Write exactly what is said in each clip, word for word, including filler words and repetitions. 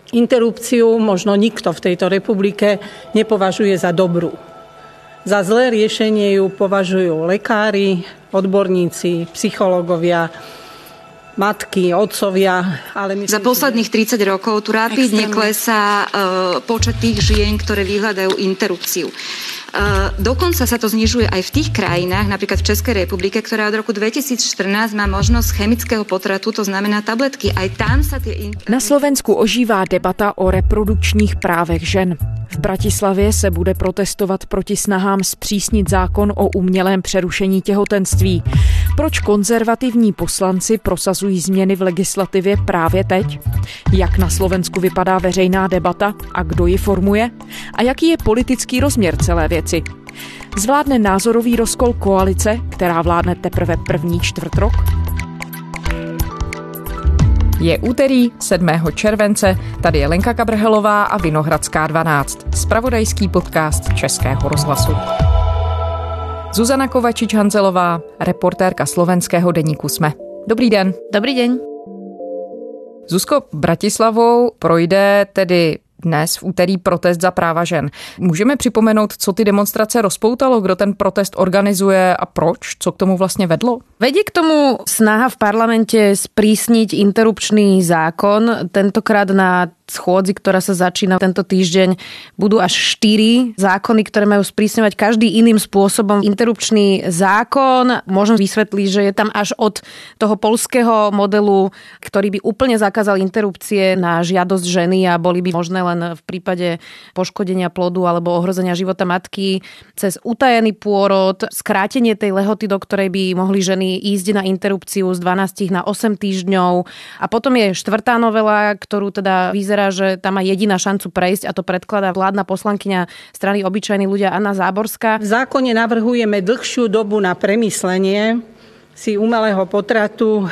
Interrupciu možno nikto v tejto republike nepovažuje za dobrú. Za zlé riešenie ju považujú lekári, odborníci, psychológovia, matky, otcovia. Ale myslím, za posledných tridsať rokov tu rapidne klesá uh, počet tých žien, ktoré vyhľadajú interrupciu. Uh, dokonca sa to znižuje aj v tých krajinách, napríklad v Českej republike, ktorá od roku dvetisícštrnásť má možnosť chemického potratu, to znamená tabletky. Aj tam sa tie... Inter... Na Slovensku ožívá debata o reprodukčních právech žen. V Bratislavě se bude protestovat proti snahám zpřísnit zákon o umělém přerušení těhotenství. Proč konzervativní poslanci prosazují změny v legislativě právě teď? Jak na Slovensku vypadá veřejná debata a kdo ji formuje? A jaký je politický rozměr celé věci? Zvládne názorový rozkol koalice, která vládne teprve první čtvrt rok? Je úterý sedmého července, tady je Lenka Kabrhelová a Vinohradská dvanáct, zpravodajský podcast Českého rozhlasu. Zuzana Kovačič-Hanzelová, reportérka slovenského deníku SME. Dobrý den. Dobrý den. Zuzko, Bratislavou projde tedy dnes v úterý protest za práva žen. Můžeme připomenout, co ty demonstrace rozpoutalo, kdo ten protest organizuje a proč? Co k tomu vlastně vedlo? Vedie k tomu snaha v parlamente sprísniť interrupčný zákon. Tentokrát na schôdzi, ktorá sa začína tento týždeň, budú až štyri zákony, ktoré majú sprísňovať každý iným spôsobom interrupčný zákon. Môžem vysvetliť, že je tam až od toho poľského modelu, ktorý by úplne zakázal interrupcie na žiadosť ženy a boli by možné len v prípade poškodenia plodu alebo ohrozenia života matky, cez utajený pôrod, skrátenie tej lehoty, do ktorej by mohli ženy ísť na interrupciu z dvanásť na osem týždňov. A potom je štvrtá novela, ktorú teda vyzerá, že tam má jediná šancu prejsť a to predkladá vládna poslankyňa strany Obyčajní ľudia Anna Záborská. V zákone navrhujeme dlhšiu dobu na premyslenie si umelého potratu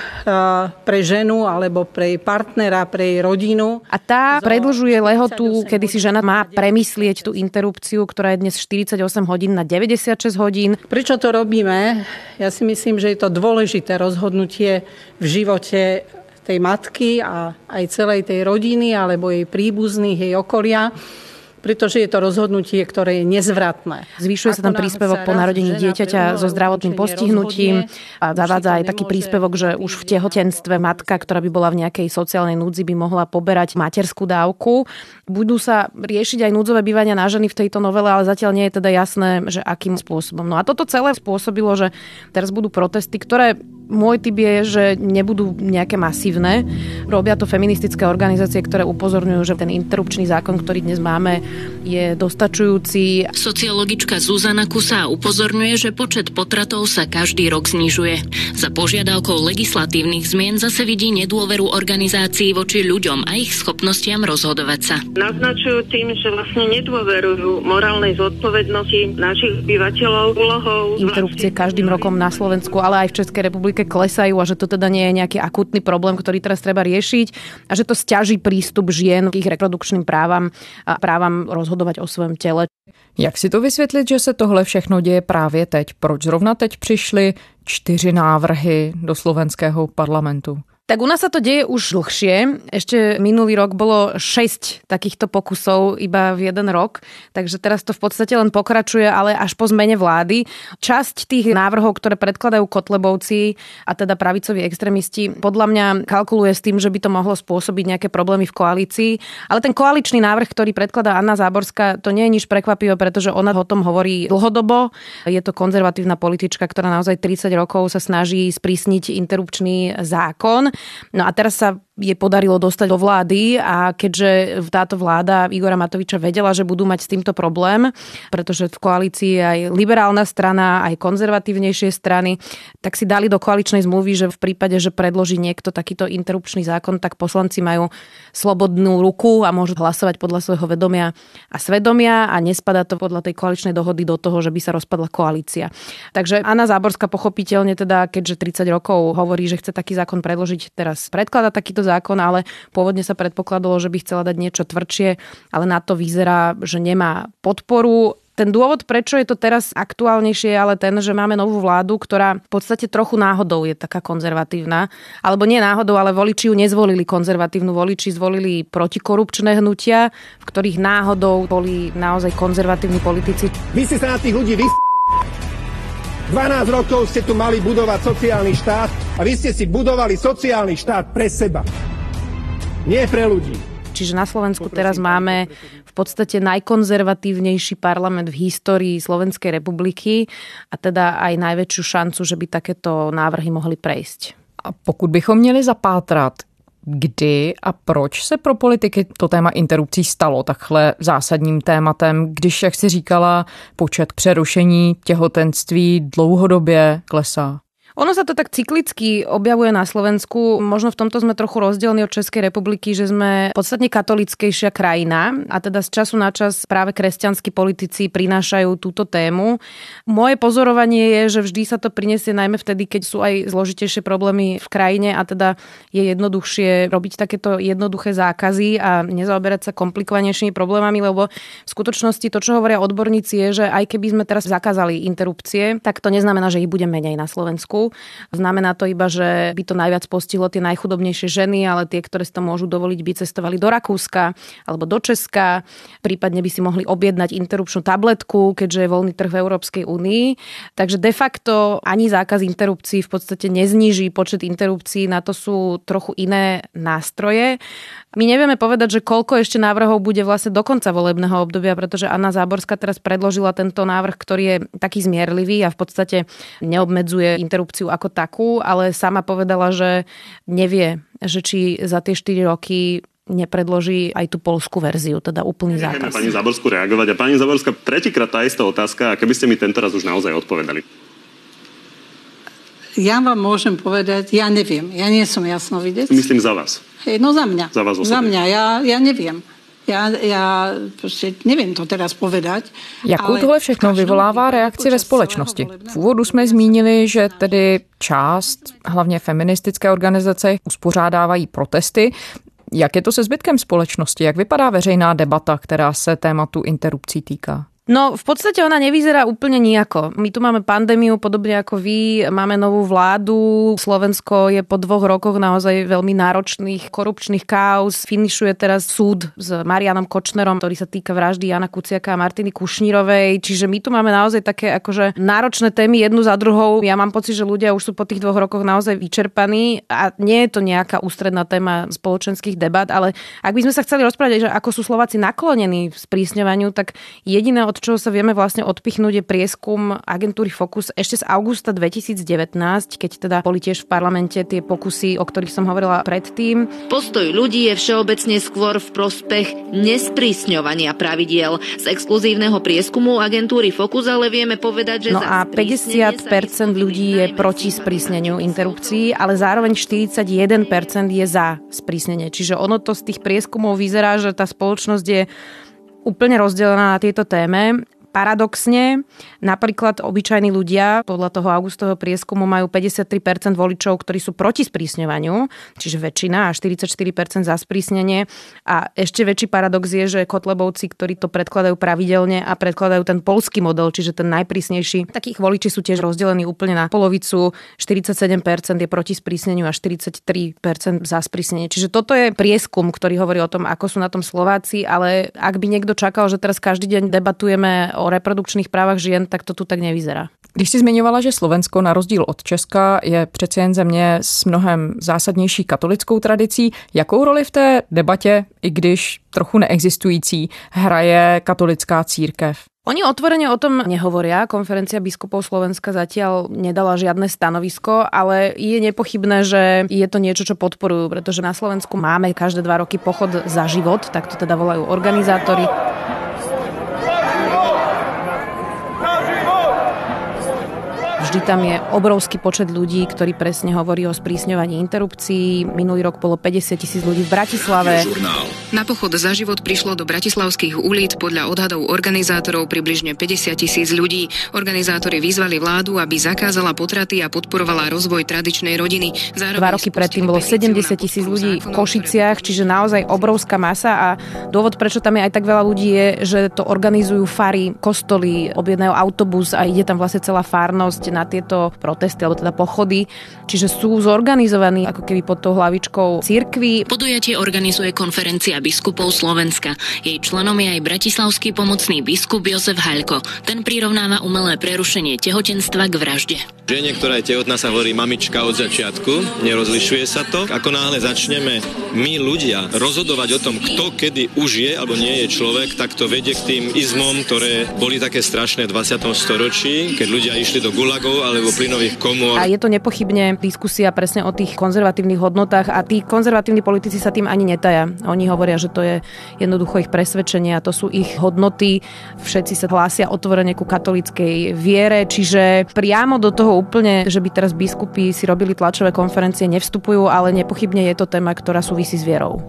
pre ženu alebo pre jej partnera, pre jej rodinu. A tá predĺžuje lehotu, kedy si žena má premyslieť tú interrupciu, ktorá je dnes štyridsaťosem hodín na deväťdesiatšesť hodín. Prečo to robíme? Ja si myslím, že je to dôležité rozhodnutie v živote tej matky a aj celej tej rodiny alebo jej príbuzných, jej okolia, pretože je to rozhodnutie, ktoré je nezvratné. Zvyšuje sa tam príspevok po narodení dieťaťa so zdravotným postihnutím a zavádza aj taký príspevok, že už v tehotenstve matka, ktorá by bola v nejakej sociálnej núdzi, by mohla poberať materskú dávku. Budú sa riešiť aj núdzové bývania na ženy v tejto novele, ale zatiaľ nie je teda jasné, že akým spôsobom. No a toto celé spôsobilo, že teraz budú protesty, ktoré môj tip je, že nebudú nejaké masívne. Robia to feministické organizácie, ktoré upozorňujú, že ten interrupčný zákon, ktorý dnes máme, je dostačujúci. Sociologička Zuzana Kusá upozorňuje, že počet potratov sa každý rok znižuje. Za požiadavkou legislatívnych zmien zase vidí nedôveru organizácií voči ľuďom a ich schopnostiam rozhodovať sa. Naznačujú tým, že vlastne nedôverujú morálnej zodpovednosti našich obyvateľov, úlohou. Interrupcie každým rokom na Slovensku, ale aj v Českej republike klesajú a že to teda nie je nejaký akútny problém, ktorý teraz treba riešiť a že to sťaží prístup žien k ich reprodukčným právam a právam rozhodovať o svojom tele. Jak si to vysvětlit, že se tohle všechno děje právě teď? Proč zrovna teď přišly čtyři návrhy do slovenského parlamentu? Tak u nás sa to deje už dlhšie. Ešte minulý rok bolo šesť takýchto pokusov iba v jeden rok, takže teraz to v podstate len pokračuje, ale až po zmene vlády. Časť tých návrhov, ktoré predkladajú kotlebovci a teda pravicoví extrémisti, podľa mňa kalkuluje s tým, že by to mohlo spôsobiť nejaké problémy v koalícii. Ale ten koaličný návrh, ktorý predkladá Anna Záborská, to nie je nič prekvapivé, pretože ona o tom hovorí dlhodobo. Je to konzervatívna politička, ktorá naozaj tridsať rokov sa snaží sprísniť interrupčný zákon. No a teraz sa je podarilo dostať do vlády a keďže táto vláda Igora Matoviča vedela, že budú mať s týmto problém, pretože v koalícii je aj liberálna strana, aj konzervatívnejšie strany, tak si dali do koaličnej zmluvy, že v prípade, že predloží niekto takýto interrupčný zákon, tak poslanci majú slobodnú ruku a môžu hlasovať podľa svojho vedomia a svedomia a nespadá to podľa tej koaličnej dohody do toho, že by sa rozpadla koalícia. Takže Anna Záborská pochopiteľne teda, keďže tridsať rokov hovorí, že chce taký zákon predložiť, teraz predkladá takýto zákon, ale pôvodne sa predpokladalo, že by chcela dať niečo tvrdšie, ale na to vyzerá, že nemá podporu. Ten dôvod, prečo je to teraz aktuálnejšie, je ale ten, že máme novú vládu, ktorá v podstate trochu náhodou je taká konzervatívna. Alebo nie náhodou, ale voliči ju nezvolili konzervatívnu. Voliči zvolili protikorupčné hnutia, v ktorých náhodou boli naozaj konzervatívni politici. Vy ste sa na tých ľudí vys... dvanásť rokov ste tu mali budovať sociálny štát a vy ste si budovali sociálny štát pre seba. Nie pre ľudí. Čiže na Slovensku teraz máme v podstate najkonzervatívnejší parlament v histórii Slovenskej republiky a teda aj najväčšiu šancu, že by takéto návrhy mohli prejsť. A pokud bychom měli zapátrat, kdy a proč se pro politiky to téma interrupcí stalo takhle zásadním tématem, když, jak jsi říkala, počet přerušení těhotenství dlouhodobě klesá? Ono sa to tak cyklicky objavuje na Slovensku. Možno v tomto sme trochu rozdielni od Českej republiky, že sme podstatne katolickejšia krajina a teda z času na čas práve kresťanskí politici prinášajú túto tému. Moje pozorovanie je, že vždy sa to prinesie najmä vtedy, keď sú aj zložitejšie problémy v krajine a teda je jednoduchšie robiť takéto jednoduché zákazy a nezaoberať sa komplikovanejšími problémami, lebo v skutočnosti to, čo hovoria odborníci, je, že aj keby sme teraz zakázali interrupcie, tak to neznamená, že ich bude menej na Slovensku. Znamená to iba, že by to najviac postihlo tie najchudobnejšie ženy, ale tie, ktoré si to môžu dovoliť, by cestovali do Rakúska alebo do Česka. Prípadne by si mohli objednať interrupčnú tabletku, keďže je voľný trh v Európskej únii. Takže de facto ani zákaz interrupcií v podstate nezníži počet interrupcií, na to sú trochu iné nástroje. My nevieme povedať, že koľko ešte návrhov bude vlastne do konca volebného obdobia, pretože Anna Záborská teraz predložila tento návrh, ktorý je taký zmierlivý a v podstate neobmedzuje interrupciu ako takú, ale sama povedala, že nevie, že či za tie štyri roky nepredloží aj tú poľskú verziu, teda úplný zákaz. Nechajme pani Záborskú reagovať. A pani Záborská, tretíkrát tá istá otázka, a keby ste mi tento raz už naozaj odpovedali. Ja vám môžem povedať, ja neviem. Ja nie som jasnovidec. Myslím za vás. Hej, no za mňa. Za vás osobne. Za mňa, ja, ja neviem. Já, já prostě nevím to teraz povedať. Jakou tohle všechno vyvolává reakci ve společnosti? V úvodu jsme zmínili, že tedy část, hlavně feministické organizace, uspořádávají protesty. Jak je to se zbytkem společnosti? Jak vypadá veřejná debata, která se tématu interrupcí týká? No, v podstate ona nevyzerá úplne nijako. My tu máme pandémiu, podobne ako vy, máme novú vládu. Slovensko je po dvoch rokoch naozaj veľmi náročných korupčných káuz. Finišuje teraz súd s Marianom Kočnerom, ktorý sa týka vraždy Jana Kuciaka a Martiny Kušnírovej. Čiže my tu máme naozaj také akože náročné témy jednu za druhou. Ja mám pocit, že ľudia už sú po tých dvoch rokoch naozaj vyčerpaní a nie je to nejaká ústredná téma spoločenských debat, ale ak by sme sa chceli rozprávať, že ako sú Slováci naklonení v sprísňovaniu, tak jediné, od čoho sa vieme vlastne odpichnúť, je prieskum agentúry Focus ešte z augusta dvetisícdevätnásť, keď teda boli tiež v parlamente tie pokusy, o ktorých som hovorila predtým. Postoj ľudí je všeobecne skôr v prospech nesprísňovania pravidiel. Z exkluzívneho prieskumu agentúry Focus ale vieme povedať, že no a päťdesiat percent ľudí je proti sprísneniu interrupcií, ale zároveň štyridsaťjeden percent je za sprísnenie. Čiže ono to z tých prieskumov vyzerá, že tá spoločnosť je úplne rozdelená na tieto téme. Paradoxne, napríklad obyčajní ľudia podľa toho augustového prieskumu majú päťdesiattri percent voličov, ktorí sú proti sprísňovaniu, čiže väčšina, a štyridsaťštyri percent za sprísnenie. A ešte väčší paradox je, že Kotlebovci, ktorí to predkladajú pravidelne a predkladajú ten poľský model, čiže ten najprísnejší, takých voliči sú tiež rozdelení úplne na polovicu. štyridsaťsedem percent je proti sprísneniu a štyridsaťtri percent za sprísnenie. Čiže toto je prieskum, ktorý hovorí o tom, ako sú na tom Slováci, ale ak by niekto čakal, že teraz každý deň debatujeme o reprodukčních právech žien, tak to tu tak nevyzerá. Když jsi zmiňovala, že Slovensko na rozdíl od Česka je přece jen země s mnohem zásadnější katolickou tradicí, jakou roli v té debatě, i když trochu neexistující, hraje katolická církev? Oni otvorene o tom nehovoria. Konferencia biskupov Slovenska zatiaľ nedala žiadne stanovisko, ale je nepochybné, že je to niečo, čo podporujú, pretože na Slovensku máme každé dva roky pochod za život, tak to teda volajú organizátori. Vždy tam je obrovský počet ľudí, ktorí presne hovorí o sprísňovaní interrupcií. Minulý rok bolo päťdesiat tisíc ľudí v Bratislave. Na pochod za život prišlo do bratislavských ulic podľa odhadov organizátorov približne päťdesiat tisíc ľudí. Organizátori vyzvali vládu, aby zakázala potraty a podporovala rozvoj tradičnej rodiny. Zároveň Dva roky predtým bolo sedemdesiat tisíc ľudí v Košiciach, čiže naozaj obrovská masa a dôvod, prečo tam je aj tak veľa ľudí je, že to organizujú fary, kostoly, objednajú autobus a ide tam vlastne celá farnosť na tieto protesty alebo teda pochody. Čiže sú zorganizovaní ako keby pod tou hlavičkou cirkvi. Podujatie organizuje konferencia biskupov Slovenska. Jej členom je aj bratislavský pomocný biskup Jozef Haľko. Ten prirovnáva umelé prerušenie tehotenstva k vražde. Žene, ktorá je tehotná, sa hovorí mamička od začiatku, nerozlišuje sa to. Ako náhle začneme my ľudia rozhodovať o tom, kto kedy už je alebo nie je človek, tak to vedie k tým izmom, ktoré boli také strašné v dvadsiatom storočí, keď ľudia išli do gulagov alebo plynových komôr. A je to nepochybne diskusia presne o tých konzervatívnych hodnotách a tí konzervatívni politici sa tým ani netaja. Oni hovoria, že to je jednoducho ich presvedčenie a to sú ich hodnoty. Všetci sa hlásia otvorene ku katolíckej viere, čiže priamo do toho úplne, že by teraz biskupy si robili tlačové konferencie, nevstupujú, ale nepochybne je to téma, ktorá súvisí s vierou.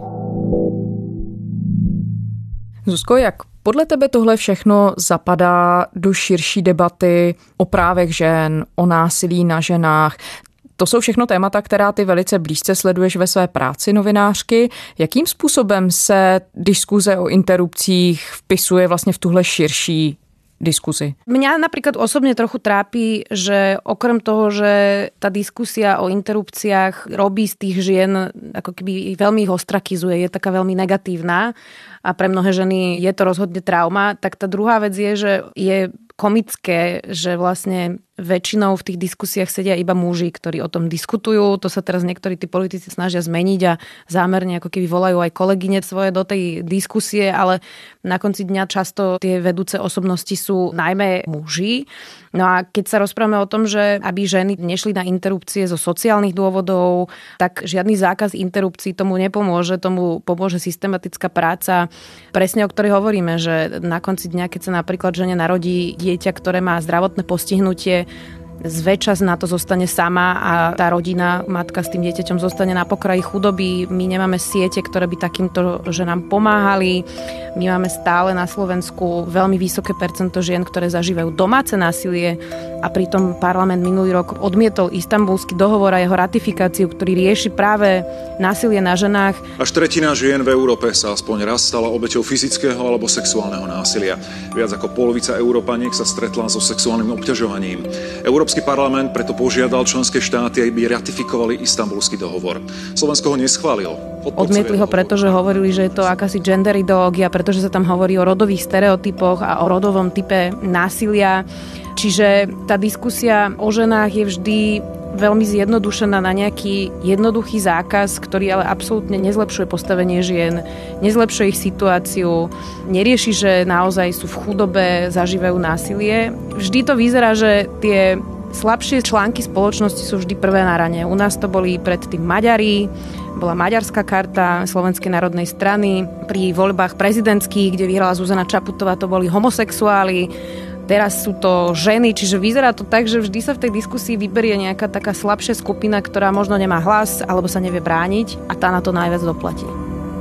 Zuzko, jak podle tebe tohle všechno zapadá do širší debaty o právech žen, o násilí na ženách? To jsou všechno témata, která ty velice blízce sleduješ ve své práci novinářky. Jakým způsobem se diskuze o interrupcích vpisuje vlastně v tuhle širší diskuzi? Mňa napríklad osobne trochu trápi, že okrem toho, že tá diskusia o interrupciách robí z tých žien, ako keby veľmi ich ostrakizuje, je taká veľmi negatívna a pre mnohé ženy je to rozhodne trauma, tak tá druhá vec je, že je komické, že vlastne väčšinou v tých diskusiách sedia iba muži, ktorí o tom diskutujú. To sa teraz niektorí tí politici snažia zmeniť a zámerne ako keby volajú aj kolegyne svoje do tej diskusie, ale na konci dňa často tie vedúce osobnosti sú najmä muži. No a keď sa rozprávame o tom, že aby ženy nešli na interrupcie zo sociálnych dôvodov, tak žiadny zákaz interrupcií tomu nepomôže, tomu pomôže systematická práca, presne o ktorej hovoríme, že na konci dňa, keď sa napríklad žene narodí dieťa, ktoré má zdravotné postihnutie, zväčšas na to zostane sama a tá rodina, matka s tým dieťaťom zostane na pokraji chudoby. My nemáme siete, ktoré by takýmto ženám pomáhali. My máme stále na Slovensku veľmi vysoké percento žien, ktoré zažívajú domáce násilie a pritom parlament minulý rok odmietol Istanbulský dohovor a jeho ratifikáciu, ktorý rieši práve násilie na ženách. Až tretina žien v Európe sa aspoň raz stala obeťou fyzického alebo sexuálneho násilia. Viac ako polovica Európaniek sa stretla so sexuálnym obťažovaním. Európsky parlament preto požiadal členské štáty, aby ratifikovali Istanbulský dohovor. Slovensko ho neschválilo. Odmietli ho, pretože hovorili, že je to akási gender ideológia, pretože sa tam hovorí o rodových stereotypoch a o rodovom type násilia. Čiže tá diskusia o ženách je vždy veľmi zjednodušená na nejaký jednoduchý zákaz, ktorý ale absolútne nezlepšuje postavenie žien, nezlepšuje ich situáciu, nerieši, že naozaj sú v chudobe, zažívajú násilie. Vždy to vyzerá, že tie slabšie články spoločnosti sú vždy prvé na rane. U nás to boli predtým Maďari, bola maďarská karta Slovenskej národnej strany, pri voľbách prezidentských, kde vyhrala Zuzana Čaputová, to boli homosexuáli. Teraz sú to ženy, čiže vyzerá to tak, že vždy sa v tej diskusii vyberie nejaká taká slabšia skupina, ktorá možno nemá hlas alebo sa nevie brániť a tá na to najviac doplatí.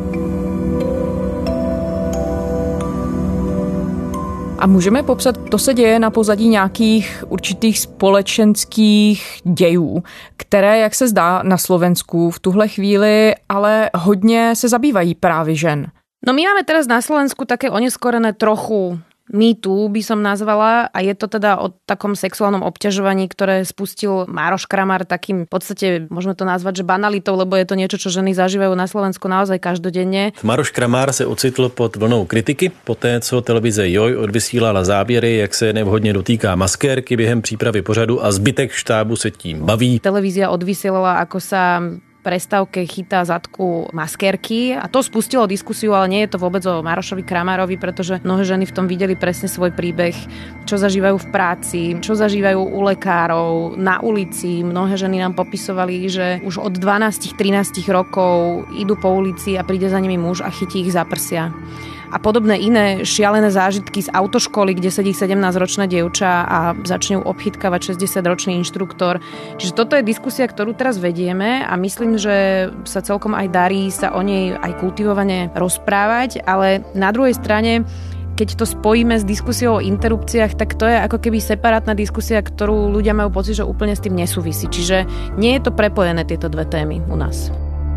A můžeme popsat, to se děje na pozadí nějakých určitých společenských dějů, které, jak se zdá na Slovensku v tuhle chvíli, ale hodně se zabývají právě žen. No my máme teraz na Slovensku také oneskorené trochu mýtu, by som nazvala, a je to teda o takom sexuálnom obťažovaní, ktoré spustil Mároš Kramár takým, v podstate môžeme to nazvať, že banalitou, lebo je to niečo, čo ženy zažívajú na Slovensku naozaj každodenne. Mároš Kramár se ocitl pod vlnou kritiky, poté co televize Joj odvysílala záběry, jak se nevhodně dotýká maskérky během přípravy pořadu a zbytek štábu se tím baví. Televízia odvysielala, ako sa prestávke chytá zadku maskérky a to spustilo diskusiu, ale nie je to vôbec o Márošovi Kramárovi, pretože mnohé ženy v tom videli presne svoj príbeh, čo zažívajú v práci, čo zažívajú u lekárov, na ulici. Mnohé ženy nám popisovali, že už od dvanásť trinásť rokov idú po ulici a príde za nimi muž a chytí ich za prsia. a podobné iné šialené zážitky z autoškoly, kde sedí sedemnásťročná dievča a začne ju obchytkávať šesťdesiatročný inštruktor. Čiže toto je diskusia, ktorú teraz vedieme a myslím, že sa celkom aj darí sa o nej aj kultivovane rozprávať, ale na druhej strane keď to spojíme s diskusiou o interrupciách, tak to je ako keby separátna diskusia, ktorú ľudia majú pocit, že úplne s tým nesúvisí. Čiže nie je to prepojené tieto dve témy u nás.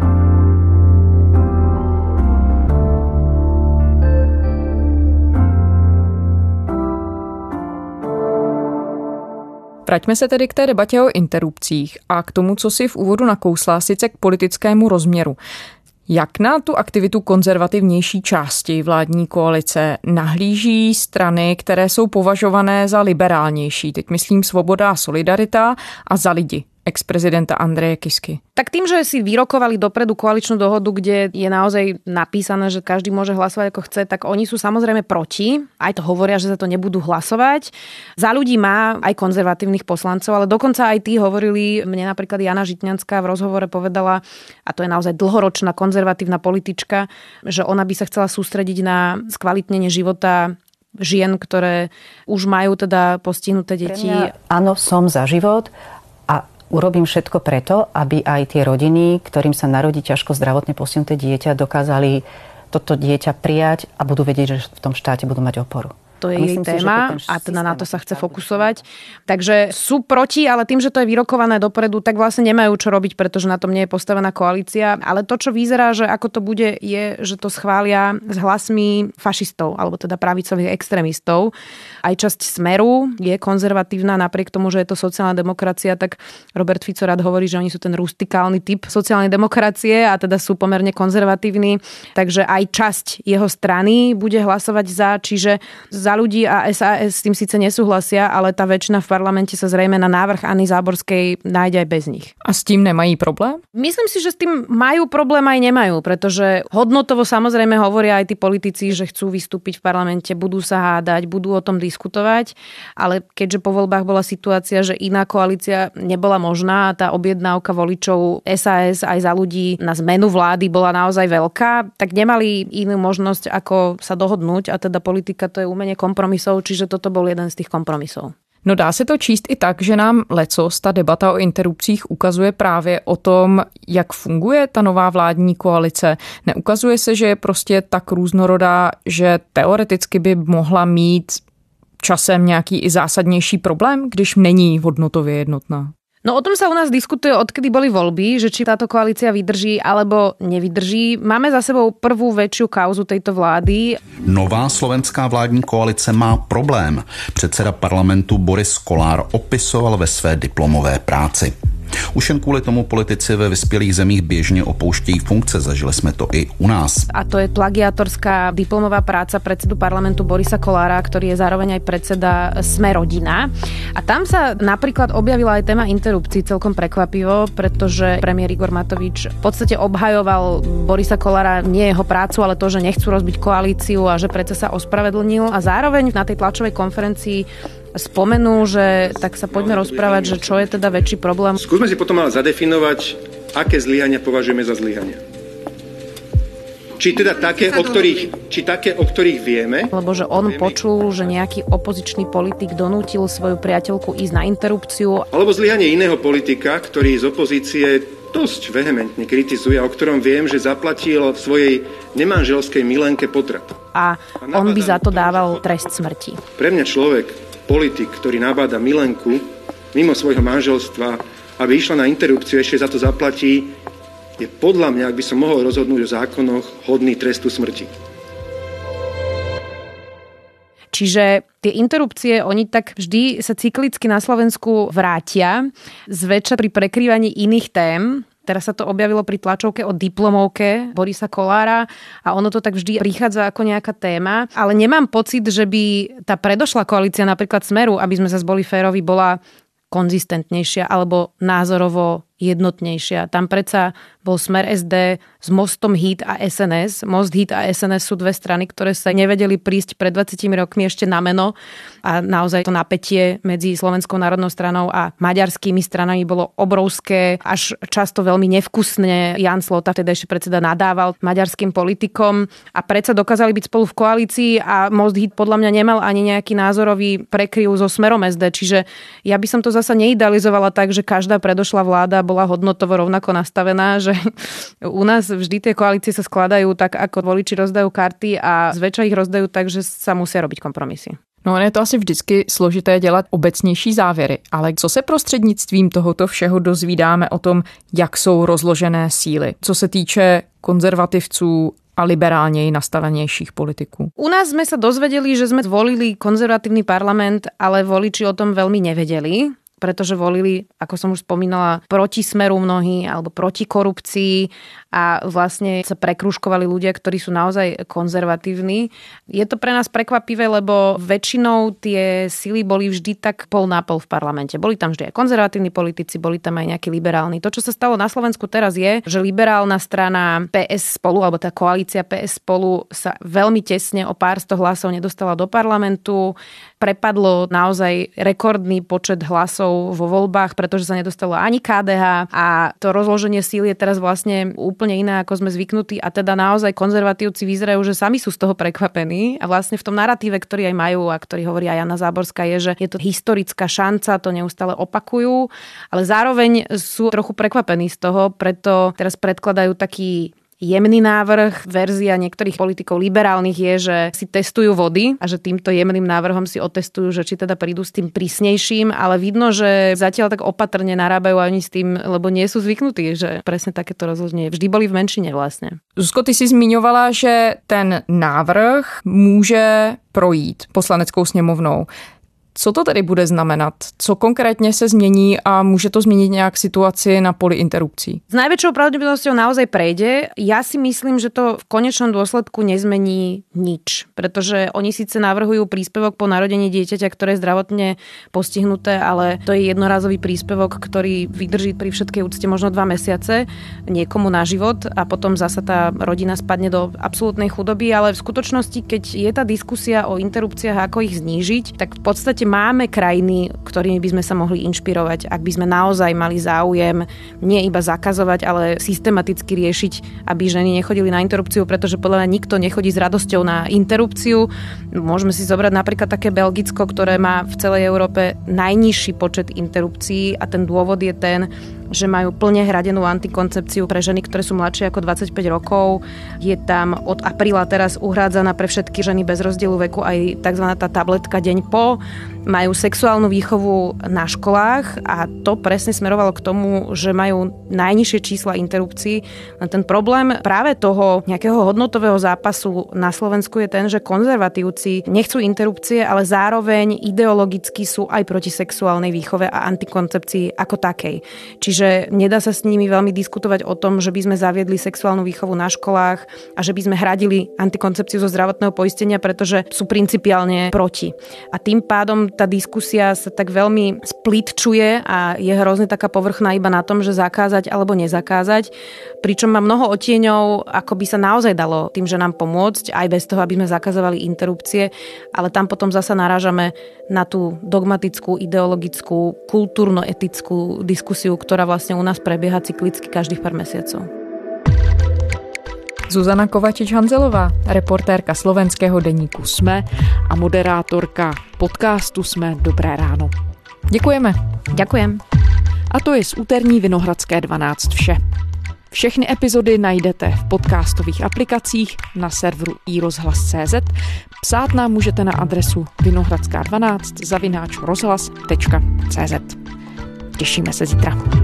Vraťme se tedy k té debatě o interrupcích a k tomu, co si v úvodu nakousla, sice k politickému rozměru. Jak na tu aktivitu konzervativnější části vládní koalice nahlíží strany, které jsou považované za liberálnější? Teď myslím Svoboda a Solidarita a Za lidi ex-prezidenta Andreje Kisky. Tak tým, že si vyrokovali dopredu koaličnú dohodu, kde je naozaj napísané, že každý môže hlasovať ako chce, tak oni sú samozrejme proti. Aj to hovoria, že za to nebudú hlasovať. Za ľudí má aj konzervatívnych poslancov, ale dokonca aj tí hovorili, mne napríklad Jana Žitňanská v rozhovore povedala, a to je naozaj dlhoročná konzervatívna politička, že ona by sa chcela sústrediť na skvalitnenie života žien, ktoré už majú teda postihnuté deti. Pre mňa, áno, som za život a urobím všetko preto, aby aj tie rodiny, ktorým sa narodí ťažko zdravotne postihnuté dieťa, dokázali toto dieťa prijať a budú vedieť, že v tom štáte budú mať oporu. To je jej téma a teda na to sa chce fokusovať. Takže sú proti, ale tým, že to je vyrokované dopredu, tak vlastne nemajú čo robiť, pretože na tom nie je postavená koalícia. Ale to, čo vyzerá, že ako to bude, je, že to schvália s hlasmi fašistov, alebo teda pravicových extrémistov. Aj časť Smeru je konzervatívna, napriek tomu, že je to sociálna demokracia, tak Robert Fico rád hovorí, že oni sú ten rustikálny typ sociálnej demokracie a teda sú pomerne konzervatívni. Takže aj časť jeho strany bude hlasovať za, čiže za Za ľudí a es a es s tým síce nesúhlasia, ale tá väčšina v parlamente sa zrejme na návrh Anny Záborskej nájde aj bez nich. A s tým nemají problém? Myslím si, že s tým majú problém aj nemajú, pretože hodnotovo samozrejme hovoria aj tí politici, že chcú vystúpiť v parlamente, budú sa hádať, budú o tom diskutovať, ale keďže po voľbách bola situácia, že iná koalícia nebola možná a tá objednávka voličov es a es aj Za ľudí na zmenu vlády bola naozaj veľká, tak nemali inú možnosť, ako sa dohodnúť a teda politika to je umenie kompromisov, čiže toto bol jeden z tých kompromisov. No dá se to číst i tak, že nám lecos, ta debata o interrupcích ukazuje právě o tom, jak funguje ta nová vládní koalice. Neukazuje se, že je prostě tak různorodá, že teoreticky by mohla mít časem nějaký i zásadnější problém, když není hodnotově jednotná. No o tom sa u nás diskutuje, odkedy boli voľby, že či táto koalícia vydrží alebo nevydrží. Máme za sebou prvú väčšiu kauzu tejto vlády. Nová slovenská vládní koalice má problém. Předseda parlamentu Boris Kolár opisoval ve své diplomové práci. Už jen kvůli tomu politici ve vyspělých zemích běžně opouštějí funkce. Zažili jsme to i u nás. A to je plagiátorská diplomová práca predsedu parlamentu Borisa Kolára, ktorý je zároveň aj predseda Sme rodina. A tam sa napríklad objavila aj téma interrupcií celkom prekvapivo, pretože premiér Igor Matovič v podstate obhajoval Borisa Kolára, nie jeho prácu, ale to, že nechcú rozbiť koalíciu a že predsa sa ospravedlnil. A zároveň na tej tlačovej konferencii spomenul, že tak sa poďme rozprávať, že čo je teda väčší problém. Skúsme si potom ale zadefinovať, aké zlyhania považujeme za zlyhania. Či teda také, o ktorých, či také, o ktorých vieme. Lebo že on počul, že nejaký opozičný politik donútil svoju priateľku ísť na interrupciu. Alebo zlyhanie iného politika, ktorý z opozície dosť vehementne kritizuje, o ktorom viem, že zaplatil svojej nemanželskej milenke potrat. A on by za to dával trest smrti. Pre mňa človek, politik, ktorý nabáda milenku mimo svojho manželstva, aby išla na interrupciu, ešte za to zaplatí, je podľa mňa, ak by som mohol rozhodnúť o zákonoch, hodný trestu smrti. Čiže tie interrupcie, oni tak vždy sa cyklicky na Slovensku vrátia, zväčša pri prekrývaní iných tém. Teraz sa to objavilo pri tlačovke o diplomovke Borisa Kolára a ono to tak vždy prichádza ako nejaká téma. Ale nemám pocit, že by tá predošlá koalícia napríklad Smeru, aby sme sa zboli férovi, bola konzistentnejšia alebo názorovo jednotnejšia. Tam predsa bol Smer es dé s Mostom Híd a es en es. Most Híd a es en es sú dve strany, ktoré sa nevedeli prísť pred dvadsiatimi rokmi ešte na meno a naozaj to napätie medzi Slovenskou národnou stranou a maďarskými stranami bolo obrovské, až často veľmi nevkusne. Jan Slota, vtedajší predseda, nadával maďarským politikom a predsa dokázali byť spolu v koalícii a Most Híd podľa mňa nemal ani nejaký názorový prekryv so Smerom es dé, čiže ja by som to zasa neidealizovala tak, že každá predošlá vláda bola hodnotovo rovnako nastavená, že u nás vždy tie koalície sa skladajú tak, ako voliči rozdajú karty a zväčša ich rozdajú tak, že sa musia robiť kompromisy. No, je to asi vždycky složité dělat obecnější závěry, ale co se prostřednictvím tohoto všeho dozvídáme o tom, jak jsou rozložené síly, co se týče konzervativců a liberálněji nastavenějších politiků? U nás sme sa dozvedeli, že sme zvolili konzervatívny parlament, ale voliči o tom veľmi nevedeli, pretože volili, ako som už spomínala, proti Smeru mnohí alebo proti korupcii a vlastne sa prekrúžkovali ľudia, ktorí sú naozaj konzervatívni. Je to pre nás prekvapivé, lebo väčšinou tie sily boli vždy tak pol na pol v parlamente. Boli tam vždy aj konzervatívni politici, boli tam aj nejakí liberálni. To, čo sa stalo na Slovensku teraz je, že liberálna strana pé es Spolu, alebo tá koalícia pé es Spolu sa veľmi tesne o pár sto hlasov nedostala do parlamentu. Prepadlo naozaj rekordný počet hlasov vo voľbách, pretože sa nedostalo ani ká dé há a to rozloženie síl je teraz vlastne úplne iné, ako sme zvyknutí a teda naozaj konzervatívci vyzerajú, že sami sú z toho prekvapení a vlastne v tom naratíve, ktorý aj majú a ktorý hovorí aj Jana Záborská, je, že je to historická šanca, to neustále opakujú, ale zároveň sú trochu prekvapení z toho, preto teraz predkladajú taký jemný návrh. Verzia niektorých politikov liberálnych je, že si testujú vody a že týmto jemným návrhom si otestujú, že či teda prídu s tým prísnejším, ale vidno, že zatiaľ tak opatrne narábajú ani s tým, lebo nie sú zvyknutí, že presne takéto rozloženie vždy boli v menšine vlastne. Zuzko, ty si zmiňovala, že ten návrh může projít poslaneckou sněmovnou. Co to tedy bude znamenat? Co konkrétně se změní a může to změnit nějak situaci na poli interrupcí? S najväčšou pravdepodobnosťou naozaj prejde. Ja si myslím, že to v konečnom dôsledku nezmení nič, pretože oni síce navrhujú príspevok po narodení dieťaťa, ktoré je zdravotne postihnuté, ale to je jednorazový príspevok, ktorý vydrží pri všetkej úcte možno dva mesiace niekomu na život a potom zasa tá rodina spadne do absolútnej chudoby, ale v skutočnosti, keď je tá diskusia o interrupciách, ako ich znížiť, tak v podstate máme krajiny, ktorými by sme sa mohli inšpirovať, ak by sme naozaj mali záujem nie iba zakazovať, ale systematicky riešiť, aby ženy nechodili na interrupciu, pretože podľa mňa nikto nechodí s radosťou na interrupciu. Môžeme si zobrať napríklad také Belgicko, ktoré má v celej Európe najnižší počet interrupcií a ten dôvod je ten, že majú plne hradenú antikoncepciu pre ženy, ktoré sú mladšie ako dvadsaťpäť rokov. Je tam od apríla teraz uhrádzaná pre všetky ženy bez rozdielu veku aj tzv. Tá tabletka deň po. Majú sexuálnu výchovu na školách a to presne smerovalo k tomu, že majú najnižšie čísla interrupcií. Ten problém práve toho nejakého hodnotového zápasu na Slovensku je ten, že konzervatívci nechcú interrupcie, ale zároveň ideologicky sú aj proti sexuálnej výchove a antikoncepcii ako takej. Čiže nedá sa s nimi veľmi diskutovať o tom, že by sme zaviedli sexuálnu výchovu na školách a že by sme hradili antikoncepciu zo zdravotného poistenia, pretože sú principiálne proti. A tým pádom tá diskusia sa tak veľmi splitčuje a je hrozne taká povrchná iba na tom, že zakázať alebo nezakázať. Pričom má mnoho odtieňov, ako by sa naozaj dalo tým, že nám pomôcť, aj bez toho, aby sme zakazovali interrupcie, ale tam potom zasa narážame na tú dogmatickú, ideologickú, kultúrno-etickú diskusiu, ktorá vlastne u nás prebieha cyklicky každých pár mesiacov. Zuzana Kovačič-Hanzelová, reportérka slovenského deníku SME a moderátorka podcastu SME Dobré ráno. Děkujeme. Ďakujem. A to je z úterní Vinohradské dvanáct vše. Všechny epizody najdete v podcastových aplikacích na serveru i rozhlas tečka cé zet. Psát nám můžete na adresu vinohradská dvanáct zavináč rozhlas tečka cé zet. Těšíme se zítra.